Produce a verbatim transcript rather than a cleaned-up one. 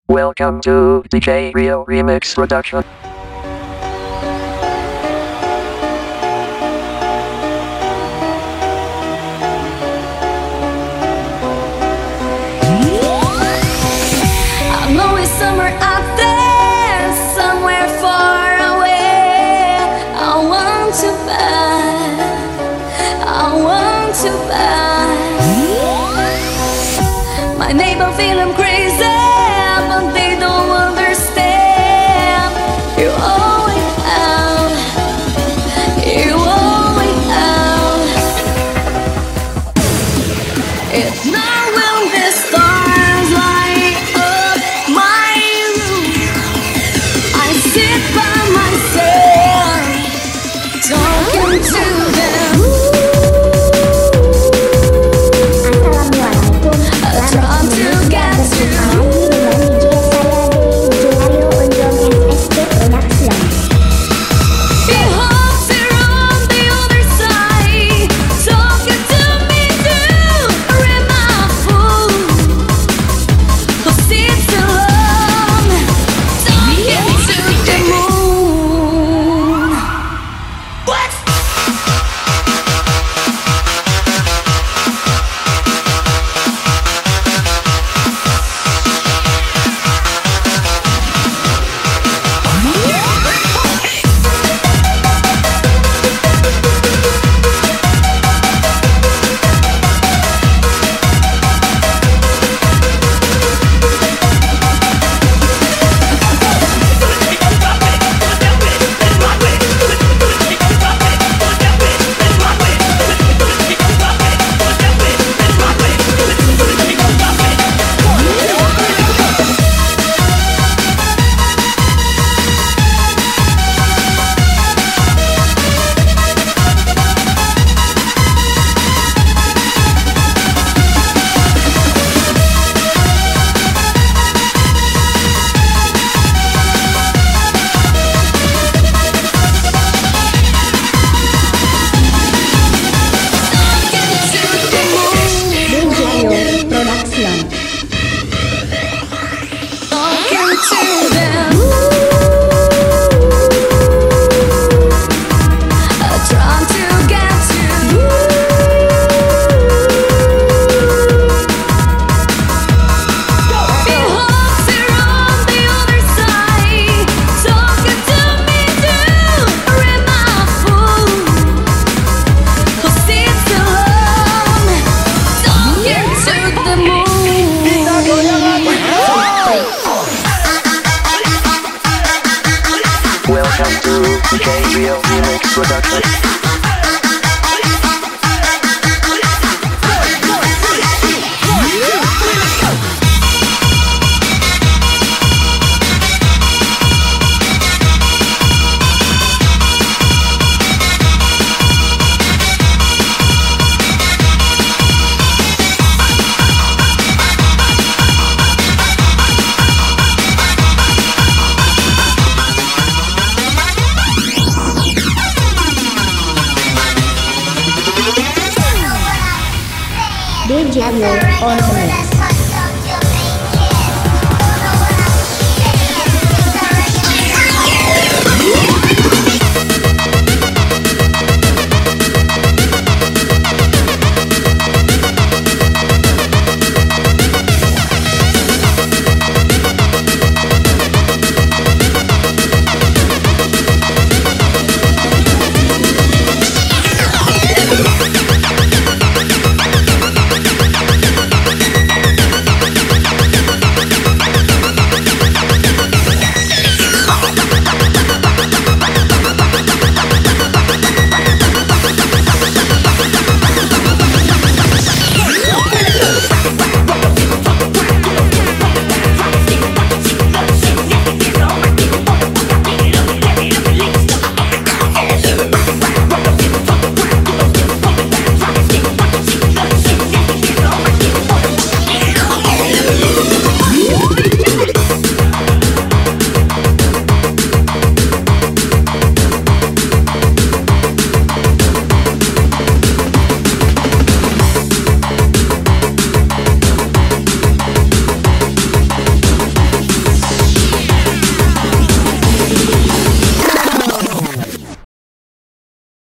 Welcome to D J Real Remix Production. I know it's summer out there, somewhere far away. I want to buy, I want to buy. My neighbor feel I'm crazy, but they don't understand. You always out, you always out. It's not when the stars light up my room. I sit by myself, talking to them. Assalamualaikum I try to get Welcome to D J Real Remix Production. D J on